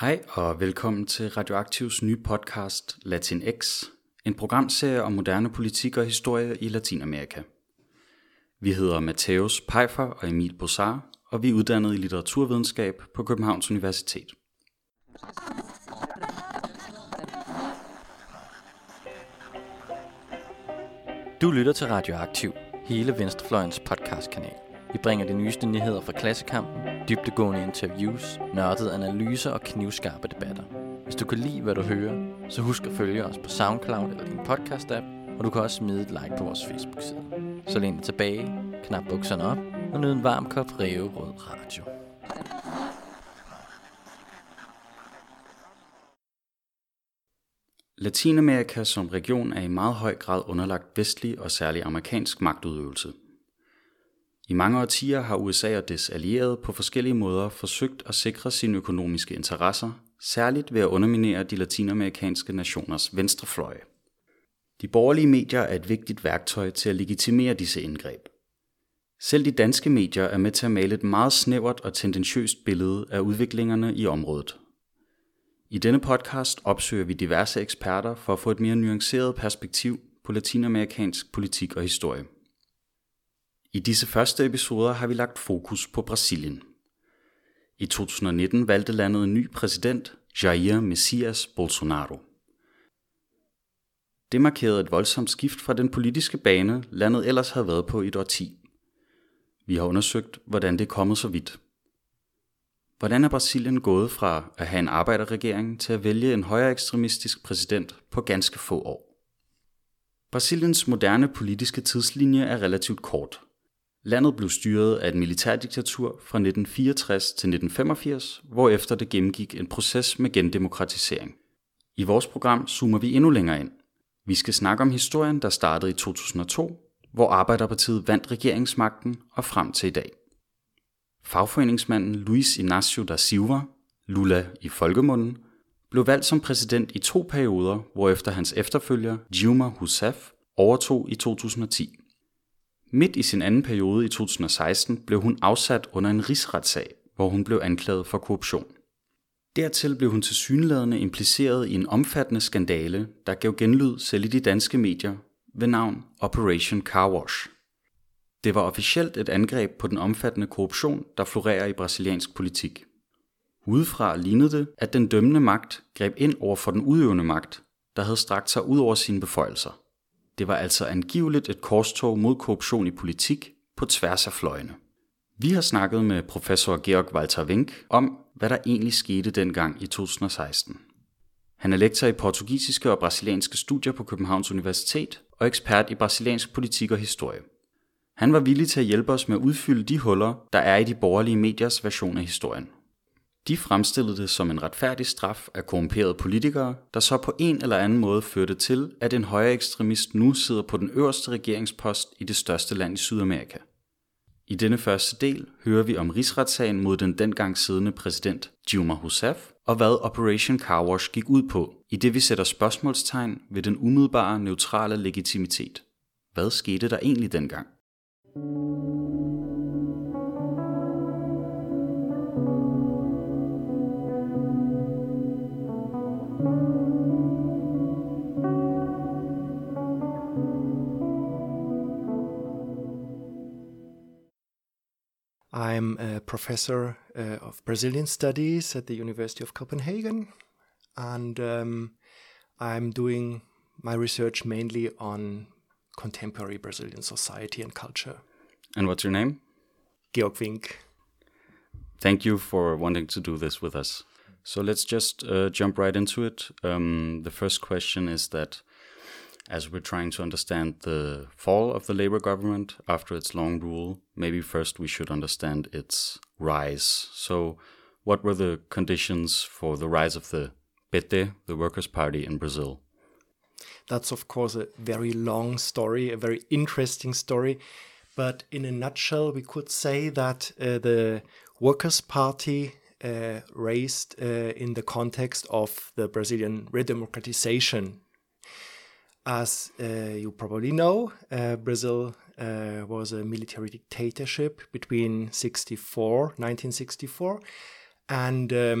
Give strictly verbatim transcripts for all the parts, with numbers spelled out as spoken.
Hej og velkommen til Radioaktivs nye podcast Latinx, en programserie om moderne politik og historie i Latinamerika. Vi hedder Matthäus Peifer og Emil Bossar, og vi er uddannet i litteraturvidenskab på Københavns Universitet. Du lytter til Radioaktiv, hele Venstrefløjens podcastkanal. Vi bringer de nyeste nyheder fra klassekampen, dybdegående interviews, nørdede analyser og knivskarpe debatter. Hvis du kan lide, hvad du hører, så husk at følge os på SoundCloud eller din podcast-app, og du kan også smide et like på vores Facebook-side. Så læn dig tilbage, knap bukserne op og nyd en varm kop ræverød radio. Latinamerika som region er i meget høj grad underlagt vestlig og særlig amerikansk magtudøvelse. I mange årtier har U S A og dets allierede på forskellige måder forsøgt at sikre sine økonomiske interesser, særligt ved at underminere de latinamerikanske nationers venstrefløje. De borgerlige medier er et vigtigt værktøj til at legitimere disse indgreb. Selv de danske medier er med til at male et meget snævert og tendentiøst billede af udviklingerne i området. I denne podcast opsøger vi diverse eksperter for at få et mere nuanceret perspektiv på latinamerikansk politik og historie. I disse første episoder har vi lagt fokus på Brasilien. I to tusind og nitten valgte landet en ny præsident, Jair Messias Bolsonaro. Det markerede et voldsomt skift fra den politiske bane, landet ellers havde været på i et årti. Vi har undersøgt, hvordan det er kommet så vidt. Hvordan er Brasilien gået fra at have en arbejderregering til at vælge en højere ekstremistisk præsident på ganske få år? Brasiliens moderne politiske tidslinje er relativt kort. Landet blev styret af et militærdiktatur fra nitten fireogtres til nitten femogfirs, hvorefter det gennemgik en proces med gendemokratisering. I vores program zoomer vi endnu længere ind. Vi skal snakke om historien, der startede i to tusind og to, hvor Arbejderpartiet vandt regeringsmagten og frem til i dag. Fagforeningsmanden Luiz Inácio da Silva, Lula i folkemunden, blev valgt som præsident i to perioder, hvorefter hans efterfølger Dilma Rousseff overtog i to tusind og ti. Midt i sin anden periode i to tusind og seksten blev hun afsat under en rigsretssag, hvor hun blev anklaget for korruption. Dertil blev hun tilsyneladende impliceret i en omfattende skandale, der gav genlyd selv i de danske medier ved navn Operation Car Wash. Det var officielt et angreb på den omfattende korruption, der florerer i brasiliansk politik. Udefra lignede det, at den dømmende magt greb ind over for den udøvende magt, der havde strakt sig ud over sine beføjelser. Det var altså angiveligt et korstog mod korruption i politik på tværs af fløjene. Vi har snakket med professor Georg Walter Wenck om, hvad der egentlig skete dengang i to tusind og seksten. Han er lektor i portugisiske og brasilianske studier på Københavns Universitet og ekspert i brasiliansk politik og historie. Han var villig til at hjælpe os med at udfylde de huller, der er i de borgerlige mediers version af historien. De fremstillede det som en retfærdig straf af korrumperede politikere, der så på en eller anden måde førte til, at en højre ekstremist nu sidder på den øverste regeringspost i det største land i Sydamerika. I denne første del hører vi om rigsretssagen mod den dengang siddende præsident Dilma Rousseff, og hvad Operation Car Wash gik ud på, i det vi sætter spørgsmålstegn ved den umiddelbare neutrale legitimitet. Hvad skete der egentlig dengang? I'm a professor uh, of Brazilian studies at the University of Copenhagen, and um, I'm doing my research mainly on contemporary Brazilian society and culture. And what's your name? Georg Wenck. Thank you for wanting to do this with us. So let's just uh, jump right into it. Um, the first question is that as we're trying to understand the fall of the Labour government after its long rule, maybe first we should understand its rise. So what were the conditions for the rise of the P T, the Workers' Party in Brazil? That's of course a very long story, a very interesting story. But in a nutshell, we could say that uh, the Workers' Party uh, raised uh, in the context of the Brazilian redemocratization. As uh, you probably know, uh, Brazil uh, was a military dictatorship between nineteen sixty-four and um,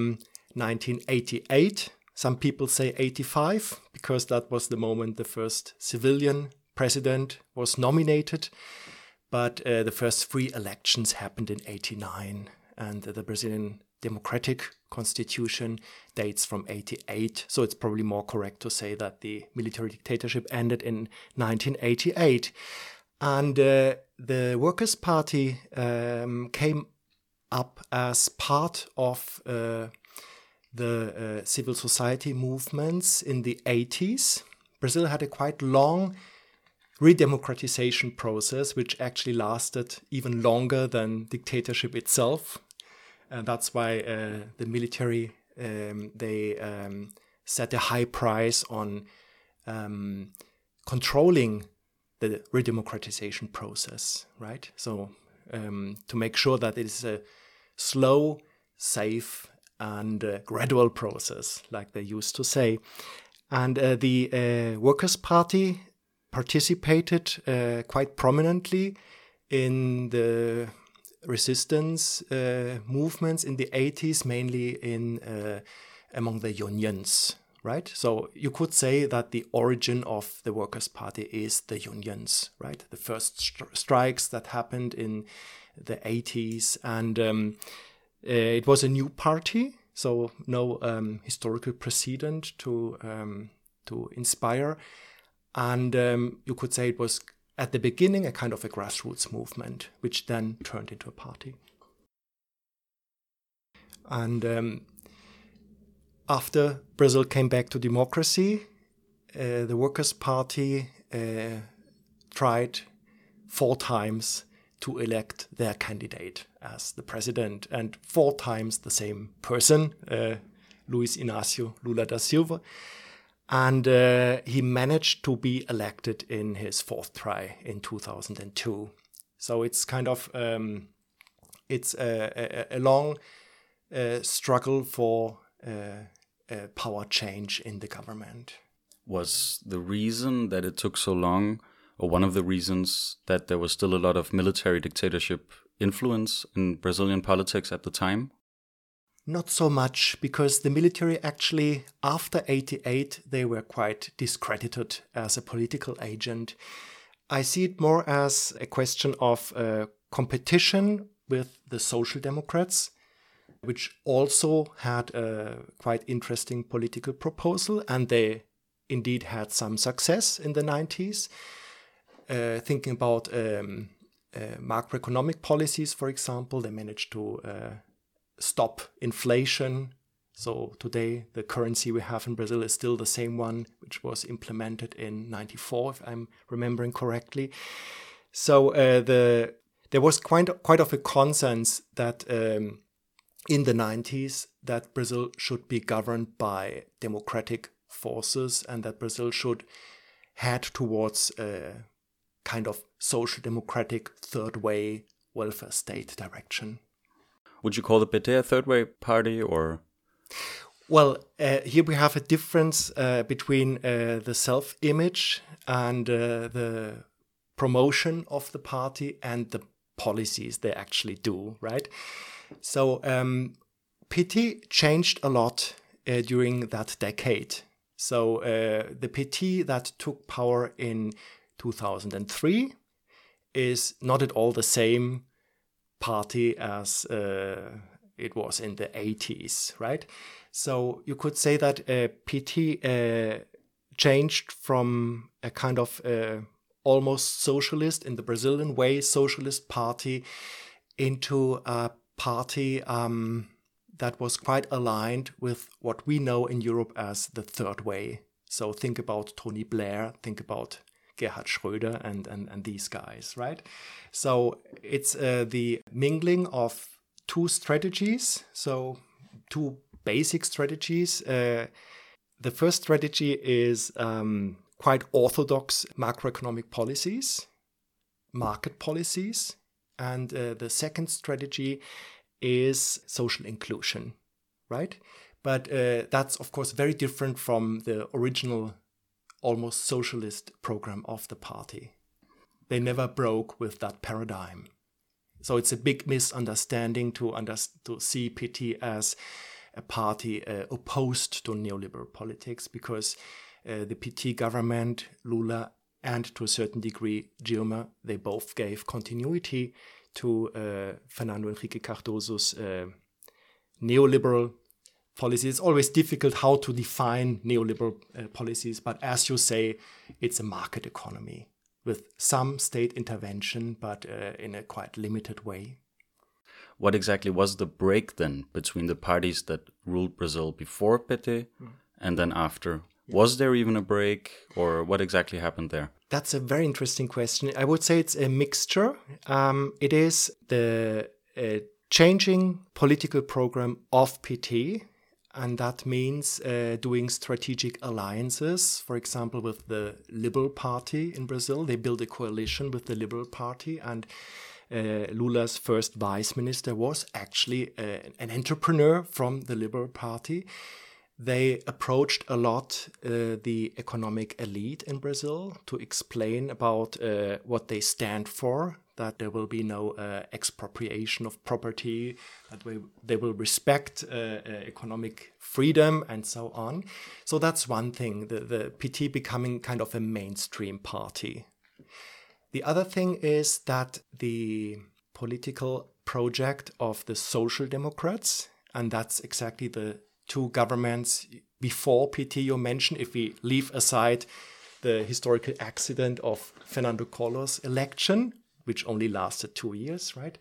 nineteen eighty-eight. Some people say eighty-five, because that was the moment the first civilian president was nominated. But uh, the first free elections happened in eighty-nine, and uh, the Brazilian democratic constitution dates from eighty-eight. So it's probably more correct to say that the military dictatorship ended in nineteen eighty-eight. And uh, the Workers' Party um, came up as part of uh, the uh, civil society movements in the eighties. Brazil had a quite long redemocratization process, which actually lasted even longer than dictatorship itself. And that's why uh, the military, um, they um, set a high price on um, controlling the redemocratization process, right? So um, to make sure that it is a slow, safe, and uh, gradual process, like they used to say. And uh, the uh, Workers' Party participated uh, quite prominently in the resistance uh, movements in the eighties, mainly in uh, among the unions, right? So you could say that the origin of the Workers' Party is the unions, right? The first stri- strikes that happened in the eighties, and um, uh, it was a new party, so no um, historical precedent to um, to inspire. And um, you could say it was, at the beginning, a kind of a grassroots movement, which then turned into a party. And um, after Brazil came back to democracy, uh, the Workers' Party uh, tried four times to elect their candidate as the president, and four times the same person, uh, Luiz Inácio Lula da Silva. And uh, he managed to be elected in his fourth try in two thousand two. So it's kind of um, it's a, a, a long uh, struggle for uh, uh, power change in the government. Was the reason that it took so long, or one of the reasons, that there was still a lot of military dictatorship influence in Brazilian politics at the time? Not so much, because the military actually, after eighty-eight, they were quite discredited as a political agent. I see it more as a question of uh, competition with the Social Democrats, which also had a quite interesting political proposal, and they indeed had some success in the nineties. Uh, thinking about um, uh, macroeconomic policies, for example, they managed to uh, stop inflation. So today the currency we have in Brazil is still the same one which was implemented in ninety-four, if I'm remembering correctly. So uh, the there was quite quite of a consensus that um, in the nineties that Brazil should be governed by democratic forces, and that Brazil should head towards a kind of social democratic third way welfare state direction. Would you call the P T a third way party, or? Well, uh, here we have a difference uh, between uh, the self-image and uh, the promotion of the party and the policies they actually do, right? So um, P T changed a lot uh, during that decade. So uh, the P T that took power in two thousand three is not at all the same party as uh, it was in the eighties, right? So you could say that uh, P T uh, changed from a kind of uh, almost socialist, in the Brazilian way, socialist party, into a party um, that was quite aligned with what we know in Europe as the third way. So think about Tony Blair, think about Gerhard Schröder and, and, and these guys, right? So it's uh, the mingling of two strategies, so two basic strategies. Uh, the first strategy is um, quite orthodox macroeconomic policies, market policies, and uh, the second strategy is social inclusion, right? But uh, that's, of course, very different from the original almost socialist program of the party. They never broke with that paradigm. So it's a big misunderstanding to, under- to see P T as a party uh, opposed to neoliberal politics, because uh, the P T government, Lula, and to a certain degree Dilma, they both gave continuity to uh, Fernando Henrique Cardoso's uh, neoliberal policies. It's always difficult how to define neoliberal uh, policies, but as you say, it's a market economy with some state intervention, but uh, in a quite limited way. What exactly was the break then between the parties that ruled Brazil before P T mm. and then after? Yeah. Was there even a break, or what exactly happened there? That's a very interesting question. I would say it's a mixture. Um, it is the uh, changing political program of P T, and that means uh, doing strategic alliances, for example, with the Liberal Party in Brazil. They built a coalition with the Liberal Party, and uh, Lula's first vice minister was actually uh, an entrepreneur from the Liberal Party. They approached a lot uh, the economic elite in Brazil to explain about uh, what they stand for, that there will be no uh, expropriation of property, that we, they will respect uh, uh, economic freedom and so on. So that's one thing, the, the P T becoming kind of a mainstream party. The other thing is that the political project of the Social Democrats, and that's exactly the two governments before P T you mentioned, if we leave aside the historical accident of Fernando Collor's election, which only lasted two years, right?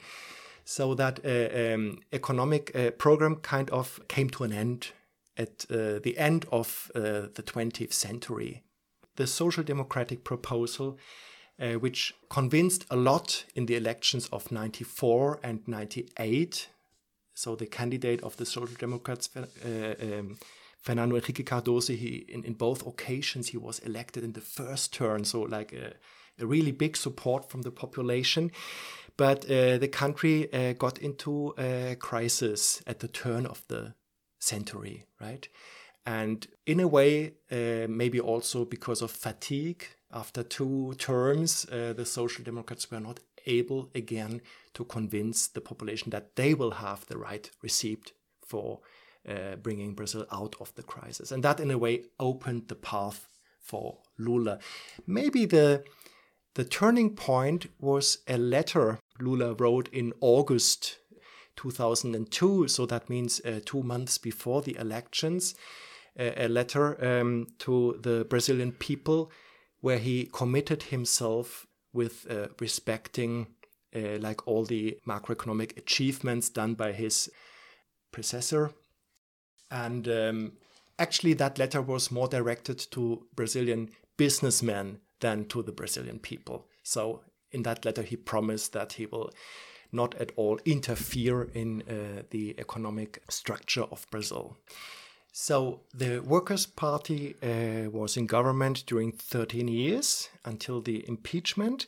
So that uh, um, economic uh, program kind of came to an end at uh, the end of uh, the twentieth century. The social democratic proposal, uh, which convinced a lot in the elections of ninety-four and ninety-eight, so the candidate of the Social Democrats, uh, um, Fernando Henrique Cardoso, he, in, in both occasions, he was elected in the first turn, so like a, a really big support from the population. But uh, the country uh, got into a crisis at the turn of the century, right? And in a way, uh, maybe also because of fatigue, after two terms, uh, the Social Democrats were not able again to convince the population that they will have the right receipt for uh, bringing Brazil out of the crisis. And that in a way opened the path for Lula. Maybe the, the turning point was a letter Lula wrote in August two thousand two, so that means uh, two months before the elections, uh, a letter um, to the Brazilian people where he committed himself with uh, respecting uh, like all the macroeconomic achievements done by his predecessor. And um, actually that letter was more directed to Brazilian businessmen than to the Brazilian people. So in that letter he promised that he will not at all interfere in uh, the economic structure of Brazil. So the Workers' Party uh, was in government during thirteen years until the impeachment,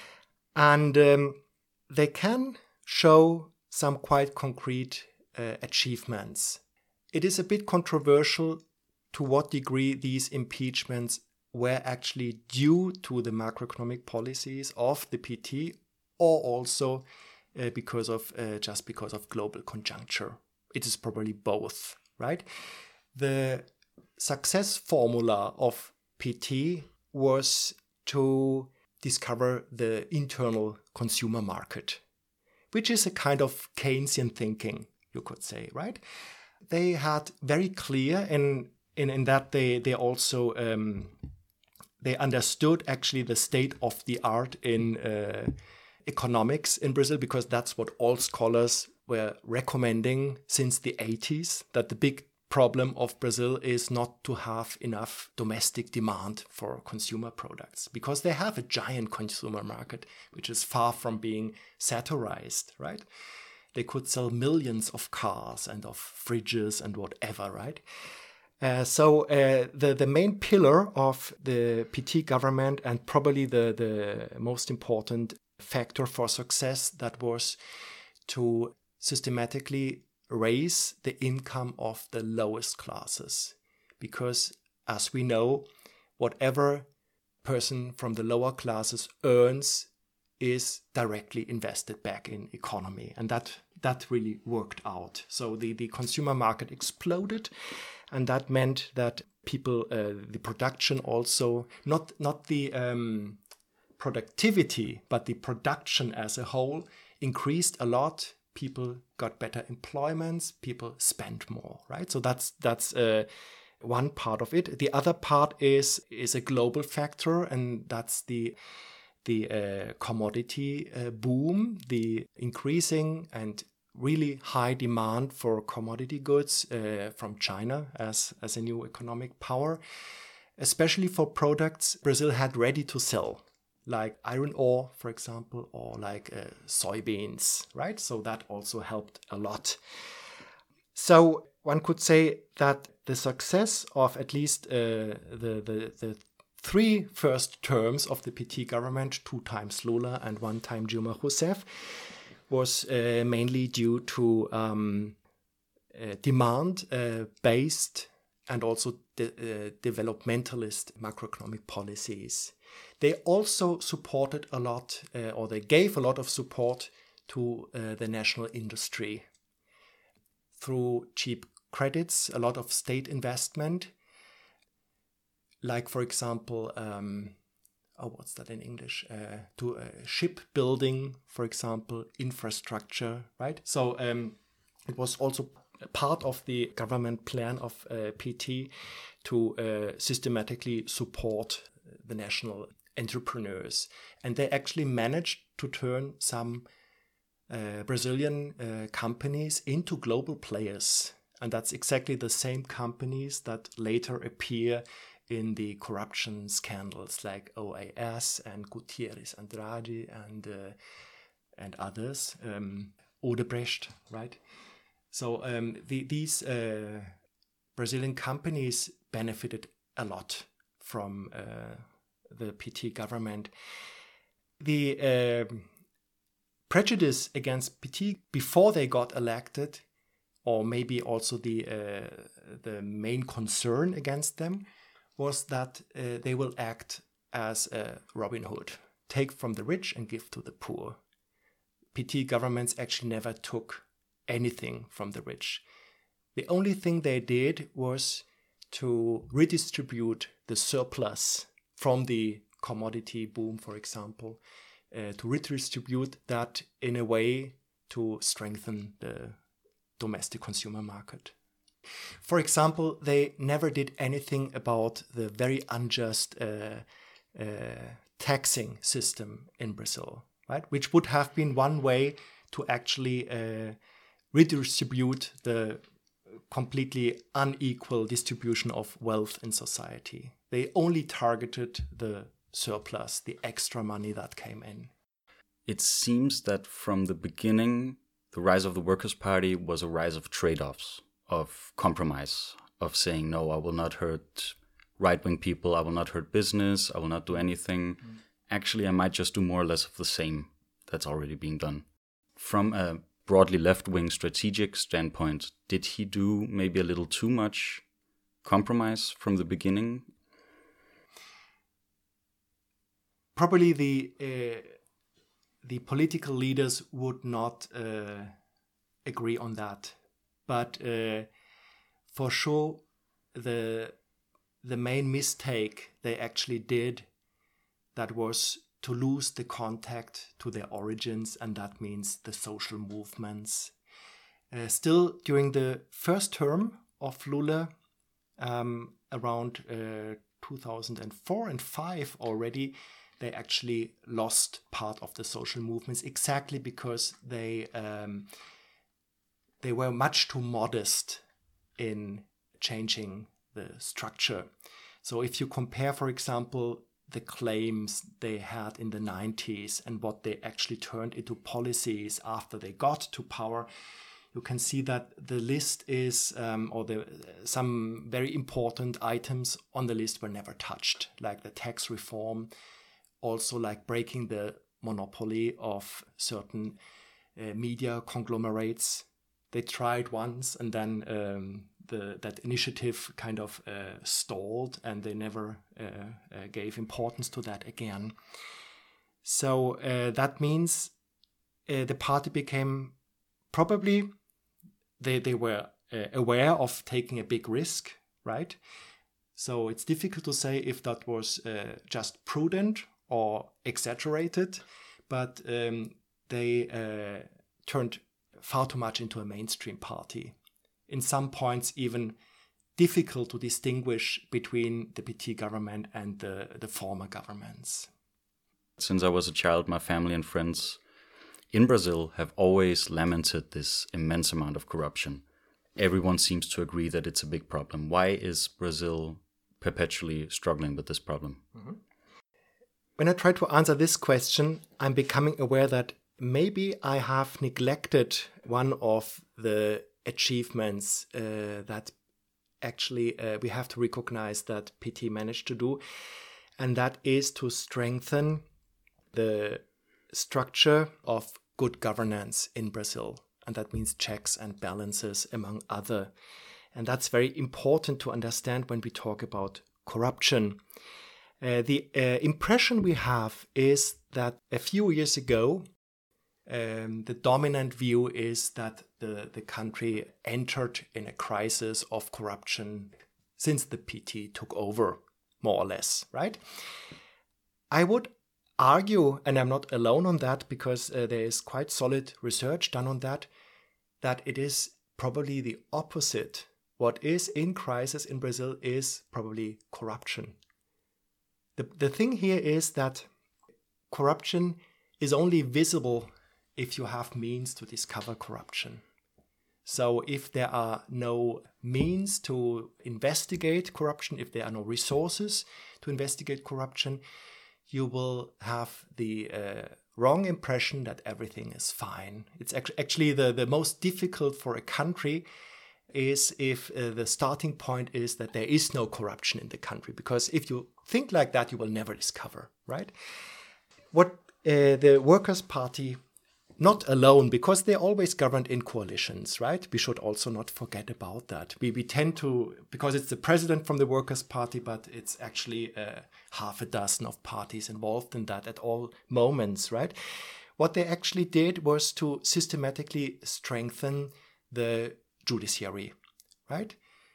and um, they can show some quite concrete uh, achievements. It is a bit controversial to what degree these impeachments were actually due to the macroeconomic policies of the P T, or also uh, because of uh, just because of global conjuncture. It is probably both, right? The success formula of P T was to discover the internal consumer market, which is a kind of Keynesian thinking, you could say, right? They had very clear, in in, in that they they also um, they understood actually the state of the art in uh, economics in Brazil, because that's what all scholars were recommending since the eighties, that the big problem of Brazil is not to have enough domestic demand for consumer products, because they have a giant consumer market which is far from being satirized, right? They could sell millions of cars and of fridges and whatever, right? Uh, so uh, the, the main pillar of the P T government, and probably the, the most important factor for success, that was to systematically raise the income of the lowest classes. Because as we know, whatever person from the lower classes earns is directly invested back in economy. And that that really worked out. So the, the consumer market exploded, and that meant that people, uh, the production also, not, not the um, productivity, but the production as a whole increased a lot. People got better employments, people spent more, right? So that's that's uh, one part of it. The other part is is a global factor, and that's the the uh, commodity uh, boom, the increasing and really high demand for commodity goods uh, from China as, as a new economic power, especially for products Brazil had ready to sell, like iron ore, for example, or like uh, soybeans, right? So that also helped a lot. So one could say that the success of at least uh, the, the, the three first terms of the P T government, two times Lula and one time Dilma Rousseff, was uh, mainly due to um, uh, demand-based uh, and also de- uh, developmentalist macroeconomic policies. They also supported a lot, uh, or they gave a lot of support to uh, the national industry through cheap credits, a lot of state investment, like, for example, um, oh, what's that in English? Uh, to uh, shipbuilding, for example, infrastructure, right? So um, it was also part of the government plan of uh, P T to uh, systematically support the national entrepreneurs. And they actually managed to turn some uh, Brazilian uh, companies into global players. And that's exactly the same companies that later appear in the corruption scandals like O A S and Gutierrez Andrade and uh, and others, um, Odebrecht, right? So um, the, these uh, Brazilian companies benefited a lot from uh, the P T government. The uh, prejudice against P T before they got elected, or maybe also the uh, the main concern against them, was that uh, they will act as a Robin Hood, take from the rich and give to the poor. P T governments actually never took anything from the rich. The only thing they did was to redistribute the surplus from the commodity boom, for example, uh, to redistribute that in a way to strengthen the domestic consumer market. For example, they never did anything about the very unjust uh, uh, taxing system in Brazil, right? Which would have been one way to actually uh, redistribute the completely unequal distribution of wealth in society. They only targeted the surplus, the extra money that came in. It seems that from the beginning, the rise of the Workers' Party was a rise of trade-offs, of compromise, of saying, no, I will not hurt right-wing people, I will not hurt business, I will not do anything. Mm. Actually, I might just do more or less of the same that's already being done. From a broadly left-wing strategic standpoint, did he do maybe a little too much compromise from the beginning? Probably the uh, the political leaders would not uh, agree on that. But uh, for sure, the the main mistake they actually did, that was to lose the contact to their origins, and that means the social movements. Uh, still, during the first term of Lula, um, around uh, two thousand four and five already, they actually lost part of the social movements, exactly because they um, they were much too modest in changing the structure. So if you compare, for example, the claims they had in the nineties and what they actually turned into policies after they got to power, you can see that the list is, um, or the some very important items on the list were never touched, like the tax reform, also like breaking the monopoly of certain uh, media conglomerates. They tried once, and then um, the that initiative kind of uh, stalled, and they never uh, uh, gave importance to that again. So uh, that means uh, the party became probably, they, they were uh, aware of taking a big risk, right? So it's difficult to say if that was uh, just prudent or exaggerated, but um, they uh, turned far too much into a mainstream party. In some points, even difficult to distinguish between the P T government and the, the former governments. Since I was a child, my family and friends in Brazil have always lamented this immense amount of corruption. Everyone seems to agree that it's a big problem. Why is Brazil perpetually struggling with this problem? Mm-hmm. When I try to answer this question, I'm becoming aware that maybe I have neglected one of the achievements uh, that actually uh, we have to recognize that P T managed to do, and that is to strengthen the structure of good governance in Brazil. And that means checks and balances, among other. And that's very important to understand when we talk about corruption. Uh, the uh, impression we have is that a few years ago, um, the dominant view is that the, the country entered in a crisis of corruption since the P T took over, more or less, right? I would argue, and I'm not alone on that because uh, there is quite solid research done on that, that it is probably the opposite. What is in crisis in Brazil is probably corruption. The, the thing here is that corruption is only visible if you have means to discover corruption. So if there are no means to investigate corruption, if there are no resources to investigate corruption, you will have the uh, wrong impression that everything is fine. It's actually the, the most difficult for a country is if uh, the starting point is that there is no corruption in the country. Because if you think like that, you will never discover, right? What uh, the Workers' Party, not alone, because they're always governed in coalitions, right? We should also not forget about that. We, we tend to, because it's the president from the Workers' Party, but it's actually uh, half a dozen of parties involved in that at all moments, right? What they actually did was to systematically strengthen the judiciary, right?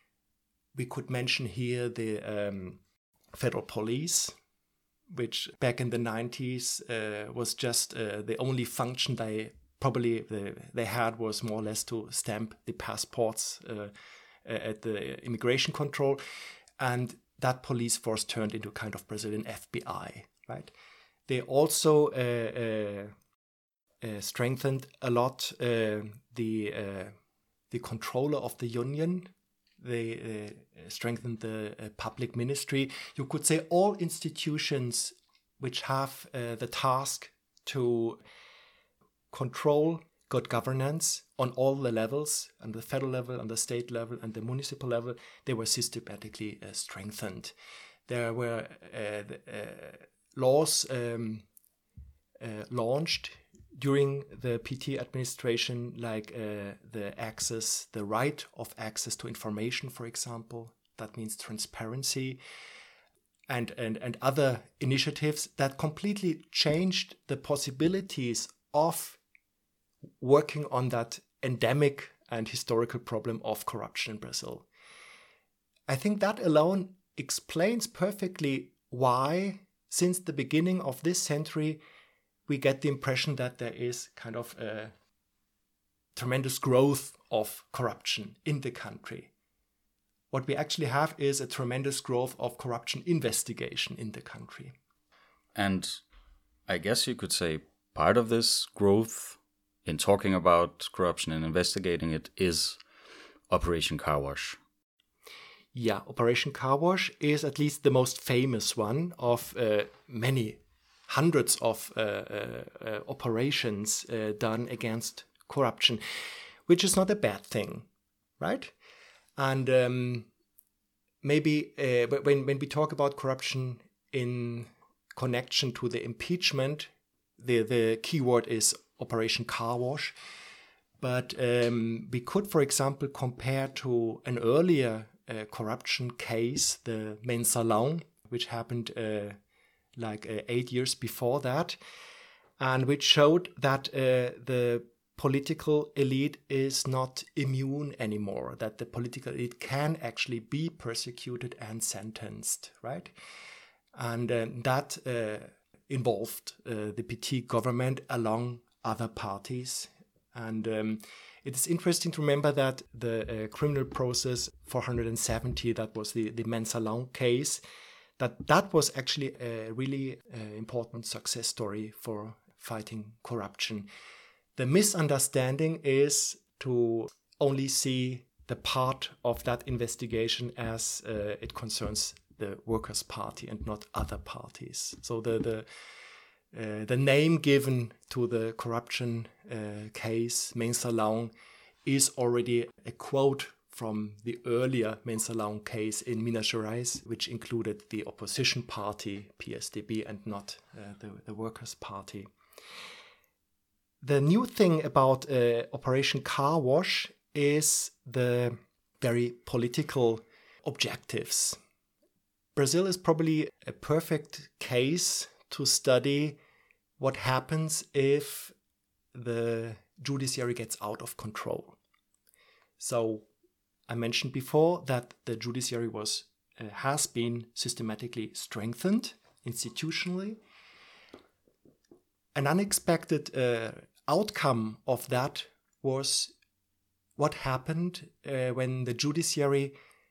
We could mention here the um, federal police, which back in the nineties uh, was just uh, the only function they probably the, they had was more or less to stamp the passports uh, at the immigration control. And that police force turned into kind of Brazilian F B I, right? They also uh, uh, uh, strengthened a lot uh, the uh, the controller of the union. They uh, strengthened the uh, public ministry. You could say all institutions which have uh, the task to control good governance on all the levels, on the federal level, on the state level, and the municipal level, they were systematically uh, strengthened. There were uh, the, uh, laws um, uh, launched during the P T administration, like uh, the access, the right of access to information, for example. That means transparency, and, and, and other initiatives that completely changed the possibilities of working on that endemic and historical problem of corruption in Brazil. I think that alone explains perfectly why, since the beginning of this century, we get the impression that there is kind of a tremendous growth of corruption in the country. What we actually have is a tremendous growth of corruption investigation in the country. And I guess you could say part of this growth in talking about corruption and investigating it is Operation Car Wash. Yeah, Operation Car Wash is at least the most famous one of uh, many hundreds of uh, uh, uh, operations uh, done against corruption, which is not a bad thing, right? And um, maybe uh, when, when we talk about corruption in connection to the impeachment, the, the keyword is Operation Car Wash. But um, we could, for example, compare to an earlier uh, corruption case, the Mensalão, which happened uh, like uh, eight years before that, and which showed that uh, the political elite is not immune anymore, that the political elite can actually be persecuted and sentenced, right? And uh, that uh, involved uh, the P T government along other parties. And um, it is interesting to remember that the uh, criminal process four hundred seventy, that was the, the Mansa-Lang case, that that was actually a really uh, important success story for fighting corruption. The misunderstanding is to only see the part of that investigation as uh, it concerns the Workers' Party and not other parties. So the the, uh, the name given to the corruption uh, case, Mansa-Lang, is already a quote from the earlier Mansa-Lang case in Minas Gerais, which included the opposition party, P S D B, and not uh, the, the Workers' Party. The new thing about uh, Operation Car Wash is the very political objectives. Brazil is probably a perfect case to study what happens if the judiciary gets out of control. So I mentioned before that the judiciary was uh, has been systematically strengthened institutionally. An unexpected uh, outcome of that was what happened uh, when the judiciary,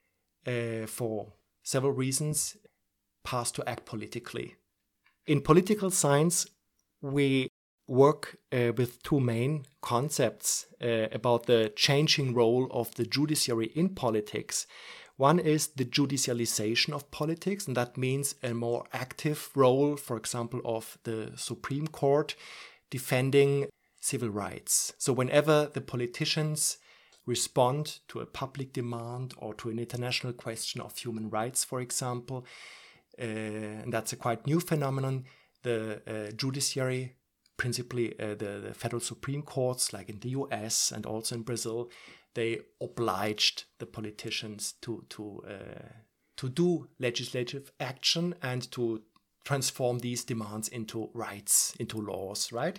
uh, for several reasons, passed to act politically. In political science, we work uh, with two main concepts uh, about the changing role of the judiciary in politics. One is the judicialization of politics, and that means a more active role, for example, of the Supreme Court defending civil rights. So whenever the politicians respond to a public demand or to an international question of human rights, for example, uh, and that's a quite new phenomenon, the uh, judiciary, principally uh, the, the federal Supreme Courts, like in the U S and also in Brazil, they obliged the politicians to to uh, to do legislative action and to transform these demands into rights, into laws, right?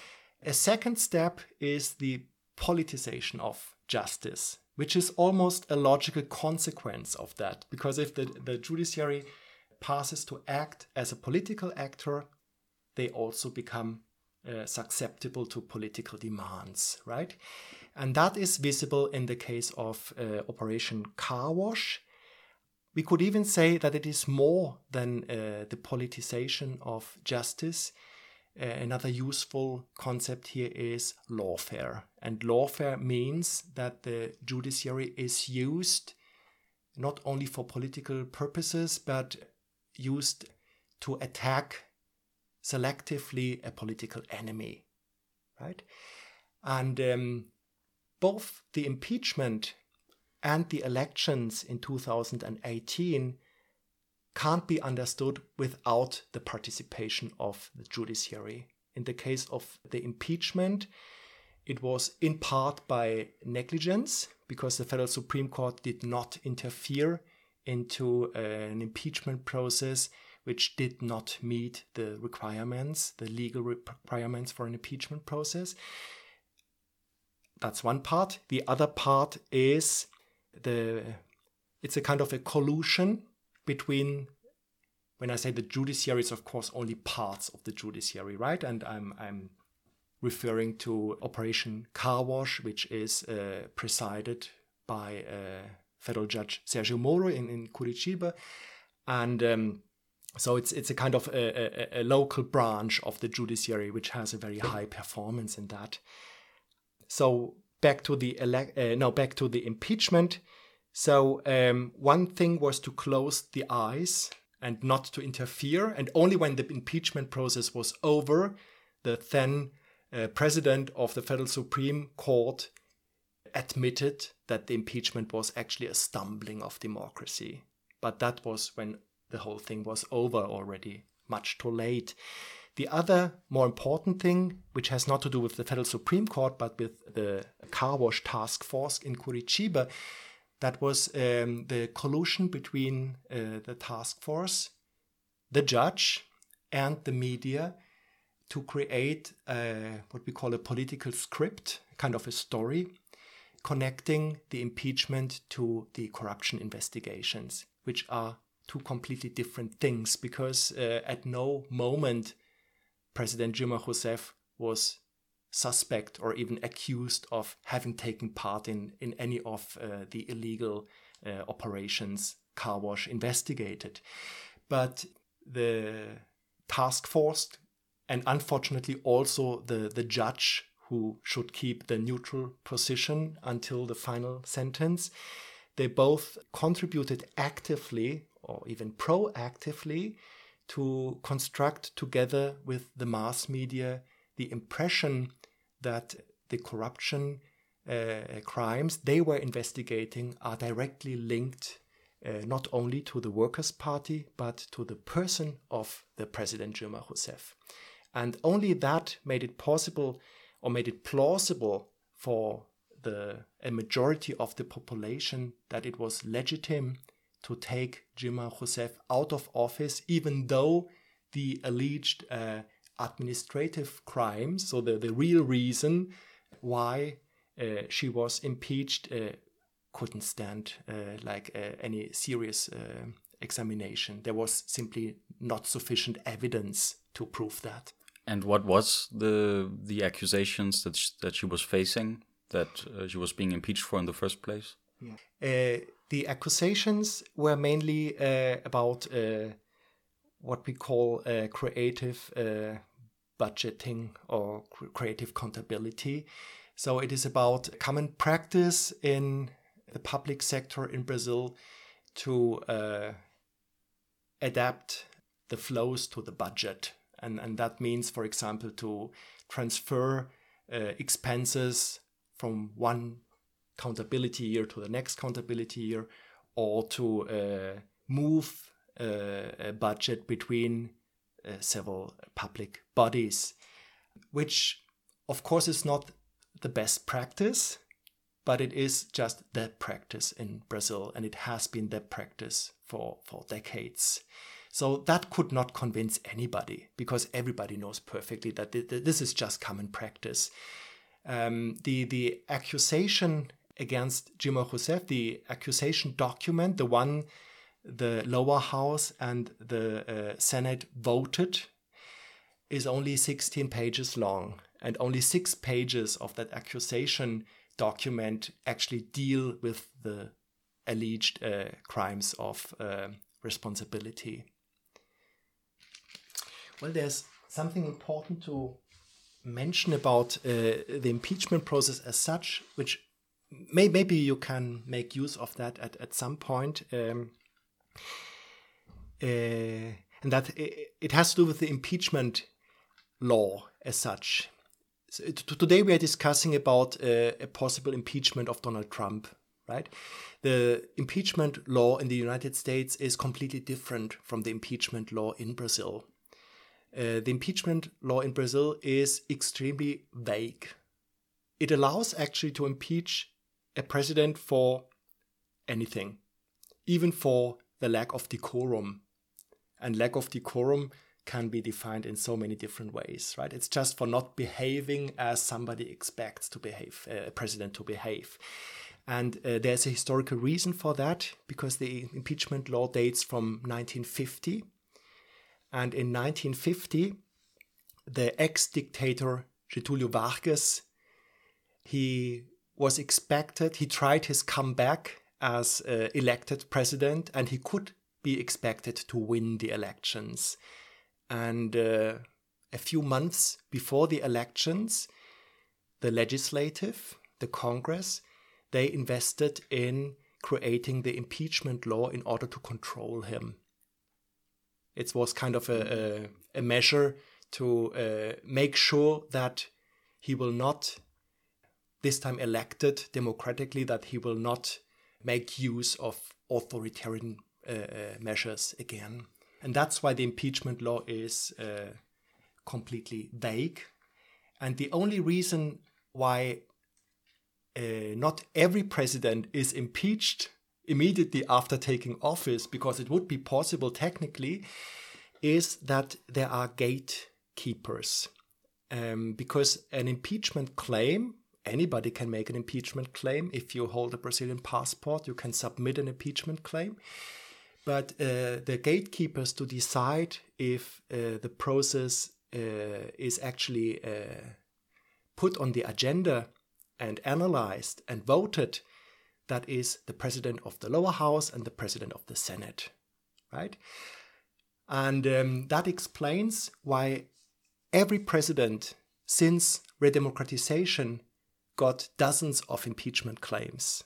A second step is the politicization of justice, which is almost a logical consequence of that, because if the, the judiciary passes to act as a political actor, they also become uh, susceptible to political demands, right? And that is visible in the case of uh, Operation Car Wash. We could even say that it is more than uh, the politicization of justice. Uh, another useful concept here is lawfare. And lawfare means that the judiciary is used not only for political purposes, but used to attack selectively a political enemy, right? And um, both the impeachment and the elections in two thousand eighteen can't be understood without the participation of the judiciary. In the case of the impeachment, it was in part by negligence, because the Federal Supreme Court did not interfere into uh, an impeachment process which did not meet the requirements, the legal requirements for an impeachment process. That's one part. The other part is the it's a kind of a collusion between, when I say the judiciary, it's of course only parts of the judiciary, right? And I'm I'm referring to Operation Car Wash, which is uh, presided by uh, federal judge Sergio Moro in, in Curitiba. And um, so it's it's a kind of a, a, a local branch of the judiciary which has a very high performance in that. So back to the ele- uh, no back to the impeachment. So um, one thing was to close the eyes and not to interfere. And only when the impeachment process was over, the then uh, president of the Federal Supreme Court admitted that the impeachment was actually a stumbling of democracy. But that was when the whole thing was over already, much too late. The other more important thing, which has not to do with the Federal Supreme Court, but with the Car Wash Task Force in Curitiba, that was um, the collusion between uh, the task force, the judge, and the media to create a, what we call a political script, kind of a story, connecting the impeachment to the corruption investigations, which are two completely different things, because uh, at no moment President Dilma Rousseff was suspect or even accused of having taken part in, in any of uh, the illegal uh, operations Car Wash investigated. But the task force, and unfortunately also the, the judge who should keep the neutral position until the final sentence, they both contributed actively or even proactively to construct together with the mass media the impression that the corruption uh, crimes they were investigating are directly linked uh, not only to the Workers' Party, but to the person of the President Dilma Rousseff. And only that made it possible or made it plausible for the a majority of the population that it was legitimate to take Dilma Rousseff out of office, even though the alleged uh, administrative crimes, so the, the real reason why uh, she was impeached, uh, couldn't stand uh, like uh, any serious uh, examination. There was simply not sufficient evidence to prove that. And what was the the accusations that sh- that she was facing, that uh, she was being impeached for in the first place? Yeah. Uh, the accusations were mainly uh, about uh, what we call uh, creative uh, budgeting or cr- creative accountability. So it is about common practice in the public sector in Brazil to uh, adapt the flows to the budget. And, and that means, for example, to transfer uh, expenses from one accountability year to the next accountability year, or to uh, move uh, a budget between uh, several public bodies, which of course is not the best practice, but it is just that practice in Brazil, and it has been that practice for, for decades. So that could not convince anybody, because everybody knows perfectly that th- th- this is just common practice. Um, the, the accusation against Dilma Rousseff, the accusation document, the one the lower house and the uh, Senate voted, is only sixteen pages long, and only six pages of that accusation document actually deal with the alleged uh, crimes of uh, responsibility. Well, there's something important to mention about uh, the impeachment process as such, which may, maybe you can make use of that at, at some point. Um, uh, and that it, it has to do with the impeachment law as such. So t- today we are discussing about uh, a possible impeachment of Donald Trump, right? The impeachment law in the United States is completely different from the impeachment law in Brazil. Uh, the impeachment law in Brazil is extremely vague. It allows actually to impeach a president for anything, even for the lack of decorum. And lack of decorum can be defined in so many different ways, right? It's just for not behaving as somebody expects to behave, uh, a president to behave. And uh, there's a historical reason for that, because the impeachment law dates from nineteen fifty. And in nineteen fifty, the ex-dictator Getúlio Vargas, he was expected, he tried his comeback as uh, elected president, and he could be expected to win the elections. And uh, a few months before the elections, the legislative, the Congress, they invested in creating the impeachment law in order to control him. It was kind of a, a, a measure to uh, make sure that he will not, this time elected democratically, that he will not make use of authoritarian uh, uh, measures again. And that's why the impeachment law is uh, completely vague. And the only reason why uh, not every president is impeached immediately after taking office, because it would be possible technically, is that there are gatekeepers. Um, because an impeachment claim, anybody can make an impeachment claim. If you hold a Brazilian passport, you can submit an impeachment claim. But uh, the gatekeepers to decide if uh, the process uh, is actually uh, put on the agenda and analyzed and voted, that is the president of the lower house and the president of the Senate, right? And um, that explains why every president since redemocratization got dozens of impeachment claims.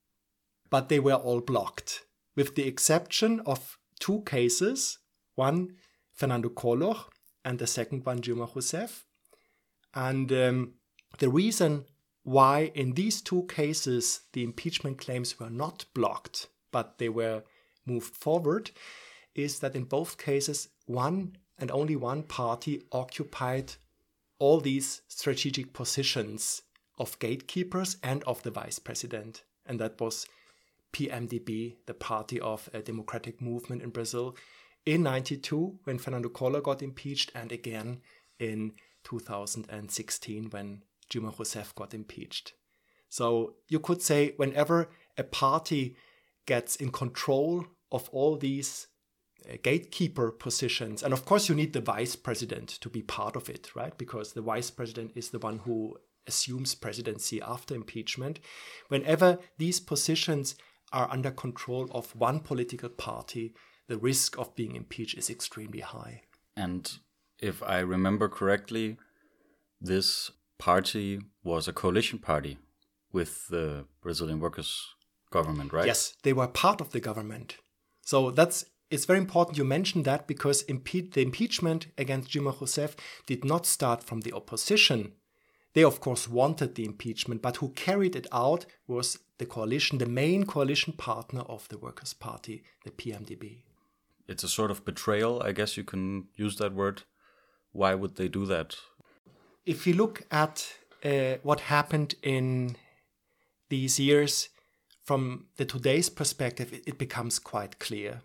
But they were all blocked, with the exception of two cases, one Fernando Collor and the second one Dilma Rousseff. And um, the reason why in these two cases the impeachment claims were not blocked, but they were moved forward, is that in both cases one and only one party occupied all these strategic positions of gatekeepers and of the vice president. And that was P M D B, the Party of a Democratic Movement in Brazil, in ninety-two when Fernando Collor got impeached, and again in two thousand sixteen when Dilma Rousseff got impeached. So you could say whenever a party gets in control of all these uh, gatekeeper positions, and of course you need the vice president to be part of it, right? Because the vice president is the one who assumes presidency after impeachment. Whenever these positions are under control of one political party, the risk of being impeached is extremely high. And if I remember correctly, this party was a coalition party with the Brazilian workers' government, right? Yes, they were part of the government. So that's it's very important you mentioned that, because impe- the impeachment against Dilma Rousseff did not start from the opposition. They, of course, wanted the impeachment, but who carried it out was the coalition, the main coalition partner of the Workers' Party, the P M D B. It's a sort of betrayal, I guess you can use that word. Why would they do that? If you look at uh, what happened in these years, from the today's perspective, it, it becomes quite clear.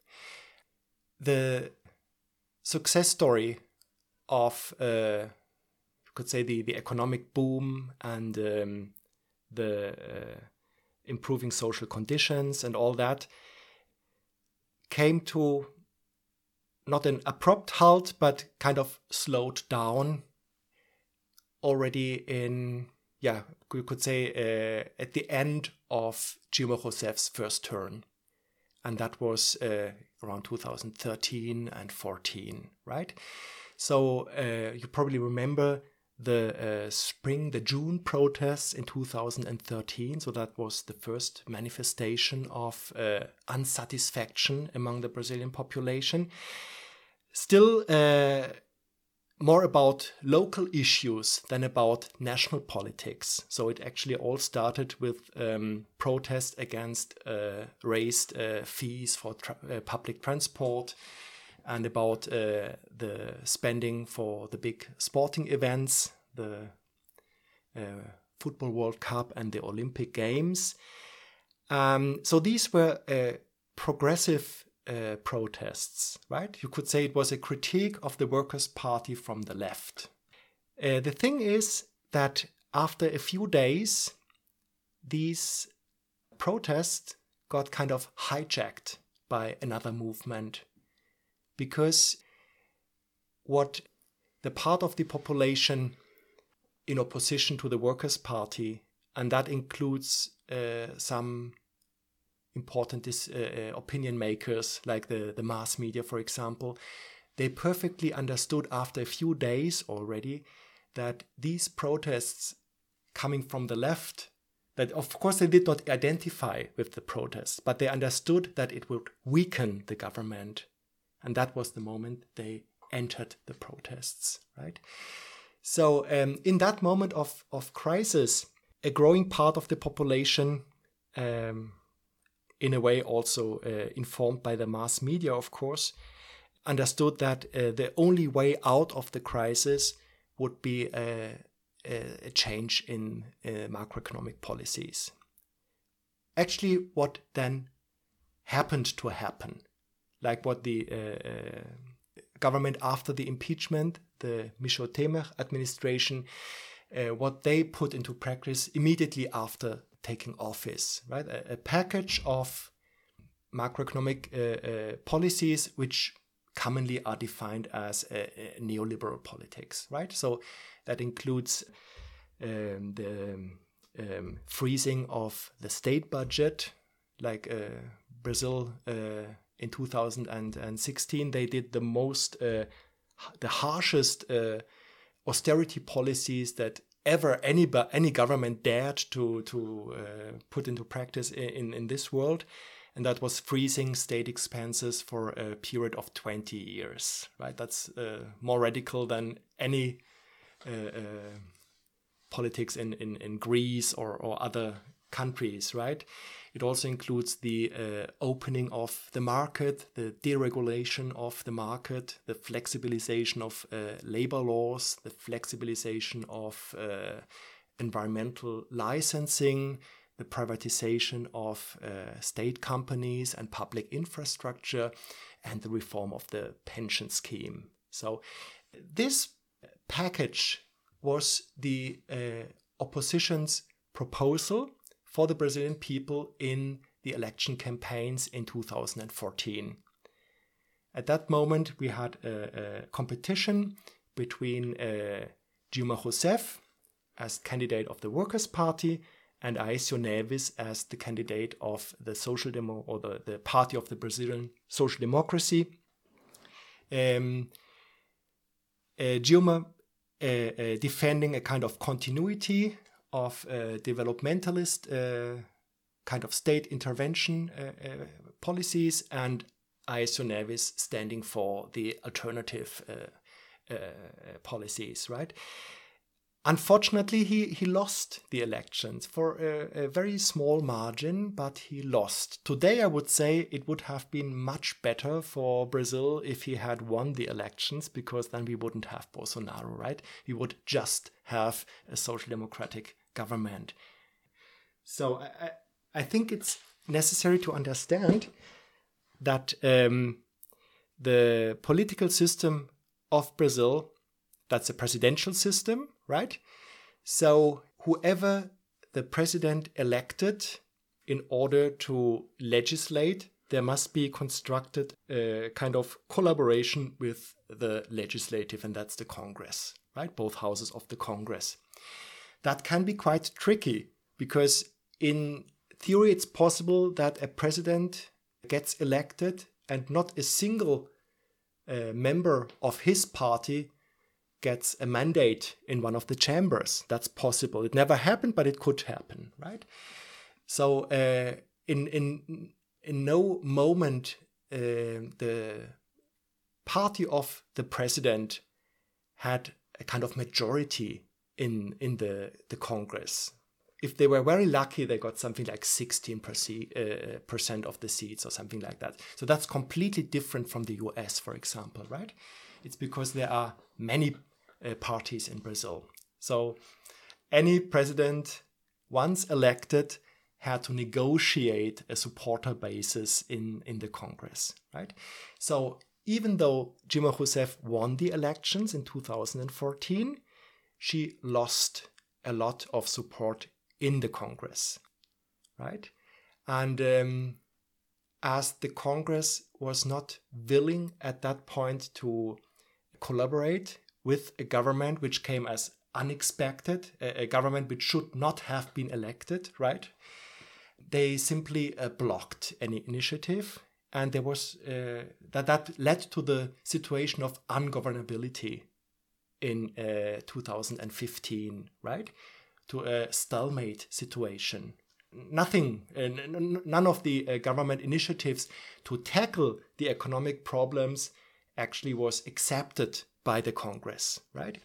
The success story of, uh, you could say, the, the economic boom and um, the uh, improving social conditions and all that came to not an abrupt halt, but kind of slowed down already in, yeah, you could say uh, at the end of Dilma Rousseff's first term. And that was uh, around two thousand thirteen and fourteen, right? So uh, you probably remember the uh, spring, the June protests in two thousand thirteen. So that was the first manifestation of uh, unsatisfaction among the Brazilian population. Still uh, more about local issues than about national politics. So it actually all started with um, protests against uh, raised uh, fees for tra- uh, public transport, and about uh, the spending for the big sporting events, the uh, Football World Cup and the Olympic Games. Um, so these were uh, progressive uh, protests, right? You could say it was a critique of the Workers' Party from the left. Uh, the thing is that after a few days, these protests got kind of hijacked by another movement, because what the part of the population in opposition to the Workers' Party, and that includes uh, some important dis- uh, opinion makers like the, the mass media, for example, they perfectly understood after a few days already that these protests coming from the left, that of course they did not identify with the protests, but they understood that it would weaken the government. And that was the moment they entered the protests, right? So um, in that moment of, of crisis, a growing part of the population, um, in a way also uh, informed by the mass media, of course, understood that uh, the only way out of the crisis would be a, a, a change in uh, macroeconomic policies. Actually, what then happened to happen, like what the uh, uh, government after the impeachment, the Michel Temer administration, uh, what they put into practice immediately after taking office, right? A, a package of macroeconomic uh, uh, policies which commonly are defined as a, a neoliberal politics, right? So that includes um, the um, freezing of the state budget, like uh, Brazil uh, in two thousand sixteen, they did the most, uh, the harshest uh, austerity policies that ever any any government dared to to uh, put into practice in, in this world. And that was freezing state expenses for a period of twenty years, right? That's uh, more radical than any uh, uh, politics in, in, in Greece or, or other countries, right? It also includes the uh, opening of the market, the deregulation of the market, the flexibilization of uh, labor laws, the flexibilization of uh, environmental licensing, the privatization of uh, state companies and public infrastructure, and the reform of the pension scheme. So this package was the uh, opposition's proposal for the Brazilian people in the election campaigns in two thousand fourteen. At that moment, we had a, a competition between uh, Dilma Rousseff as candidate of the Workers' Party and Aécio Neves as the candidate of the Social Demo or the, the Party of the Brazilian Social Democracy. Um, uh, Dilma uh, uh, defending a kind of continuity of uh, developmentalist uh, kind of state intervention uh, uh, policies, and Aécio Neves standing for the alternative uh, uh, policies, right? Unfortunately, he, he lost the elections for a, a very small margin, but he lost. Today, I would say it would have been much better for Brazil if he had won the elections, because then we wouldn't have Bolsonaro, right? We would just have a social democratic government. So I, I think it's necessary to understand that um, the political system of Brazil, that's a presidential system, right? So whoever the president elected, in order to legislate, there must be constructed a kind of collaboration with the legislative, and that's the Congress, right? Both houses of the Congress. That can be quite tricky, because in theory it's possible that a president gets elected and not a single uh, member of his party gets a mandate in one of the chambers. That's possible. It never happened, but it could happen, right? So uh, in in in no moment uh, the party of the president had a kind of majority in in the the Congress. If they were very lucky, they got something like sixteen percent of the seats or something like that. So that's completely different from the U S, for example, right? It's because there are many uh, parties in Brazil. So any president, once elected, had to negotiate a supporter basis in, in the Congress, right? So even though Dilma Rousseff won the elections in two thousand fourteen, she lost a lot of support in the Congress, right? And um, as the Congress was not willing at that point to collaborate with a government which came as unexpected, a, a government which should not have been elected, right? They simply uh, blocked any initiative, and there was uh, that that led to the situation of ungovernability in uh, two thousand fifteen, right? To a stalemate situation. Nothing, uh, n- none of the uh, government initiatives to tackle the economic problems actually was accepted by the Congress, right?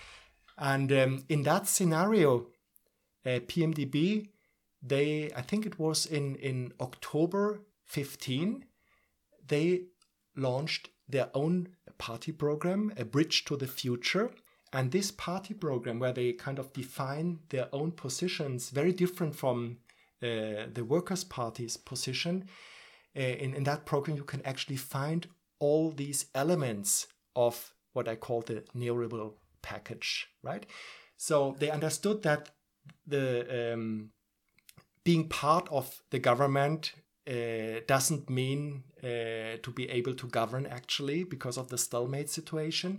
And um, in that scenario, uh, P M D B, they, I think it was in, in October fifteen, they launched their own party program, A Bridge to the Future. And this party program, where they kind of define their own positions, very different from uh, the Workers' Party's position, uh, in, in that program you can actually find all these elements of what I call the neoliberal package, right? So they understood that the um, being part of the government uh, doesn't mean uh, to be able to govern, actually, because of the stalemate situation.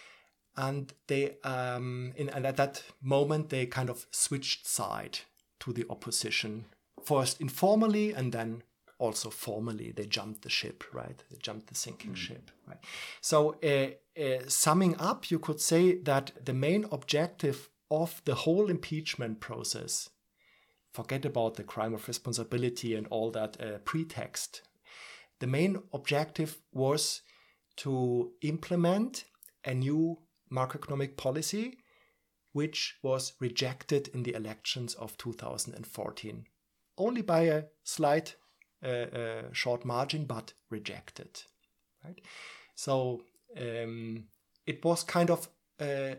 And they, um, in, and at that moment, they kind of switched side to the opposition, first informally and then also formally. They jumped the ship, right? They jumped the sinking mm. ship, right? So uh, uh, summing up, you could say that the main objective of the whole impeachment process, forget about the crime of responsibility and all that uh, pretext, the main objective was to implement a new macroeconomic policy, which was rejected in the elections of two thousand fourteen. Only by a slight, uh, uh, short margin, but rejected. Right? So um, it was kind of uh,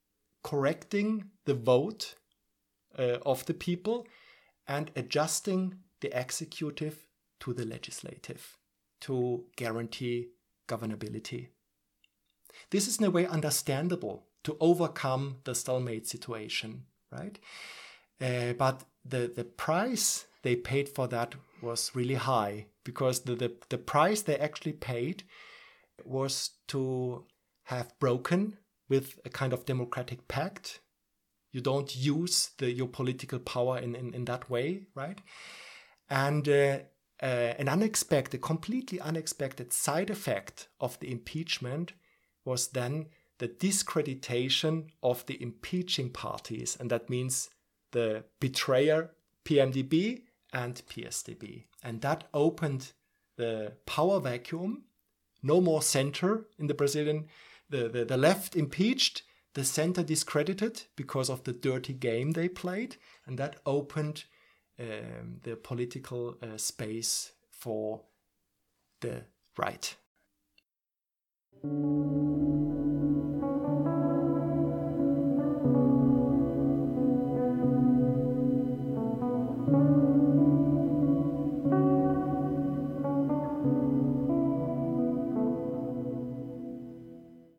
correcting the vote uh, of the people and adjusting the executive to the legislative to guarantee governability. This is in a way understandable to overcome the stalemate situation, right? Uh, but the, the price they paid for that was really high, because the, the, the price they actually paid was to have broken with a kind of democratic pact. You don't use the, your political power in, in, in that way, right? And uh, uh, an unexpected, completely unexpected side effect of the impeachment was then the discreditation of the impeaching parties. And that means the betrayer P M D B and P S D B. And that opened the power vacuum. No more center in the Brazilian, the, the, the left impeached, the center discredited because of the dirty game they played. And that opened um, the political uh, space for the right.